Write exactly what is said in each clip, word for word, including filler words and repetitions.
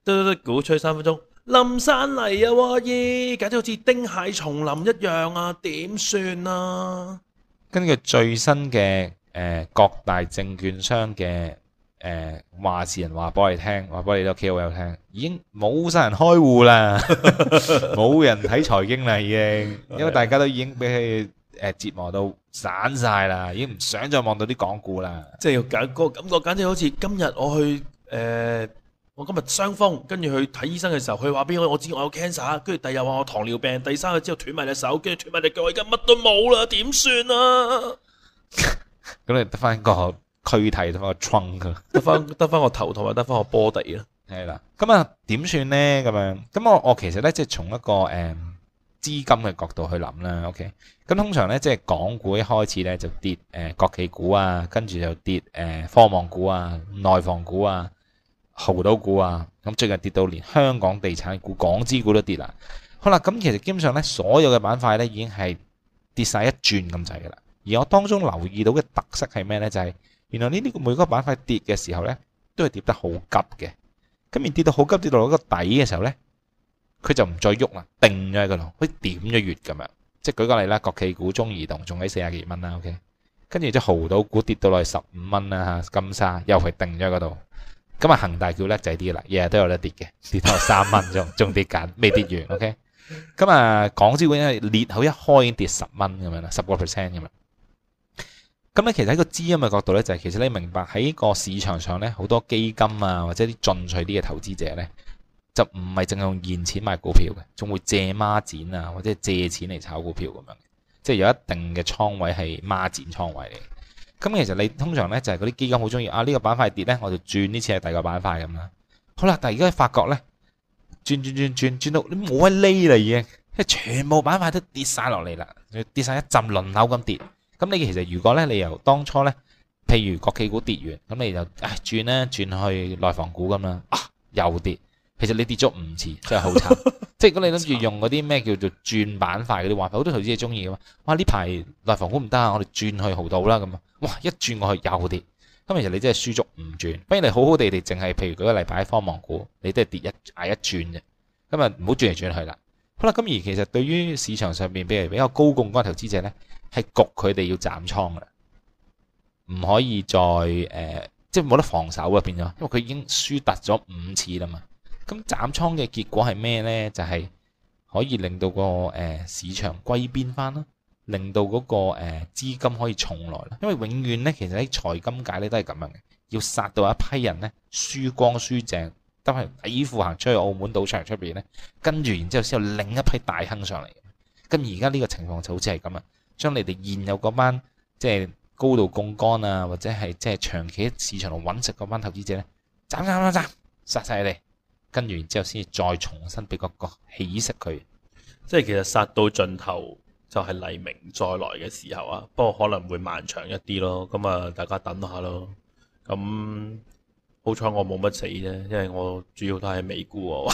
嘟嘟嘟，鼓吹三分鐘，冧山嚟啊！喎咦，簡直好似丁蟹叢林一樣啊！點算啊？ 根據最新嘅誒、呃、各大證券商嘅誒話事人話俾我哋聽，話俾我哋啲 K O L 聽，已經冇晒人開戶啦，冇人睇財經啦，已經，因為大家都已經俾佢誒折磨到散晒啦，已經唔想再望到啲港股啦。 即係要揀個感覺，簡直好似今日我去誒。呃我今日傷風，跟住去睇醫生嘅時候，佢話俾我我知我有 cancer，跟住第日話我糖尿病，第三日之後斷埋隻手，跟住斷埋隻腳，我而家乜都冇啦，點算啊？ 咁你得翻個軀體，得翻個 trunk， 得翻得翻個頭同埋得翻個 body 啦。 係啦，咁啊點算呢？咁樣，咁我我其實咧即係從一個誒、嗯、資金嘅角度去諗啦。OK，咁通常咧即係港股一開始咧就跌誒、呃、國企股啊，跟住就跌誒、呃、科網股啊、內房股啊。濠賭股啊，咁最近跌到連香港地產股、港資股都跌啦。好啦，咁其實基本上咧，所有嘅板塊咧已經係跌晒一轉咁滯噶啦。而我當中留意到嘅特色係咩咧？就係、是、原來呢啲每個板塊跌嘅時候咧，都係跌得好急嘅。咁而跌到好急，跌到一個底嘅時候咧，佢就唔再喐啦，定咗喺嗰度，好似點咗穴咁樣。即係舉個例啦，國企股、中移動仲喺四十幾蚊啦。OK，跟住即係濠賭股跌到落去十五蚊啦，嚇金沙又係定咗喺嗰度。咁啊，恒大叫叻仔啲啦，日日都有得跌嘅，跌到三蚊仲仲跌緊，未跌完。OK，咁啊，港資股因為裂口一開已經跌十蚊咁樣啦，十個 percent 咁樣。咁咧，其實喺個資金嘅角度咧，就係、是、其實你明白喺個市場上咧，好多基金啊或者啲進取啲嘅投資者咧，就唔係淨係用現錢買股票嘅，仲會借孖展啊或者借錢嚟炒股票咁樣嘅，即係有一定嘅倉位係孖展倉位嚟。咁其實你通常咧就係嗰啲基金好中意啊，呢個板塊跌咧，我就轉呢次係第二個板塊咁啦。好啦，但係而家發覺咧，轉轉轉轉轉到你冇得匿啦已經，即係全部板塊都跌晒落嚟啦，跌晒一浸輪流咁跌。咁你其實如果咧你由當初咧，譬如國企股跌完，咁你就唉轉咧轉去內房股咁啦，啊又跌。其實你跌咗五次，真係好慘。即係如果你諗住用嗰啲咩叫做轉板塊嗰啲玩法，好多投資者中意噶嘛。哇！呢排內房股唔得啊，我哋轉去濠賭啦咁啊。哇！一轉過去又跌，咁其實你真係輸足唔轉。不如你好好地地淨係，譬如舉個例擺喺科網股，你都係跌一挨一轉啫。咁啊唔好轉嚟轉去啦。好啦，咁而其實對於市場上邊譬如比較高槓桿投資者咧，係焗佢哋要斬倉噶啦，唔可以再誒、呃，即係冇得防守啊變咗，因為佢已經輸突咗五次啦嘛。咁斬倉嘅結果係咩呢？就係、是、可以令到個誒、呃、市場歸邊翻啦，令到嗰、那個誒、呃、資金可以重來啦。因為永遠呢，其實喺財金界咧都係咁樣嘅，要殺到一批人呢，輸光輸淨，都係底褲行出去澳門賭場出邊呢，跟住然之後先有另一批大亨上嚟。咁而家呢個情況就好似係咁啊，將你哋現有嗰班即係高度槓桿啊，或者係即係長期喺市場度揾食嗰班投資者呢，斬斬斬斬殺晒你哋。跟住然之後先至再重新俾個個起色佢， 即係其實殺到盡頭就係黎明再來嘅時候啊！不過可能會漫長一啲咯，咁啊大家等下咯。咁好彩我冇乜死啫，因為我主要都係美股喎。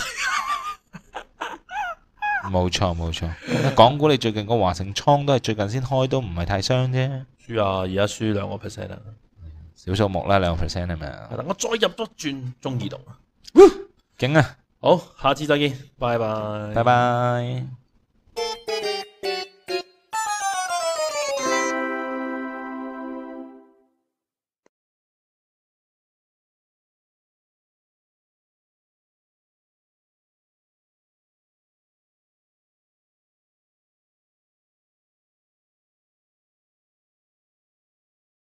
冇錯冇錯，港股你最近個華盛倉都係最近先開，都唔係太傷啫。 輸啊！而家輸兩個 percent 啦， 小數目啦，兩個 percent 係咪啊？ 我再入多轉中移動啊！ 勁啊！ 好，下次再見，拜拜， 拜拜。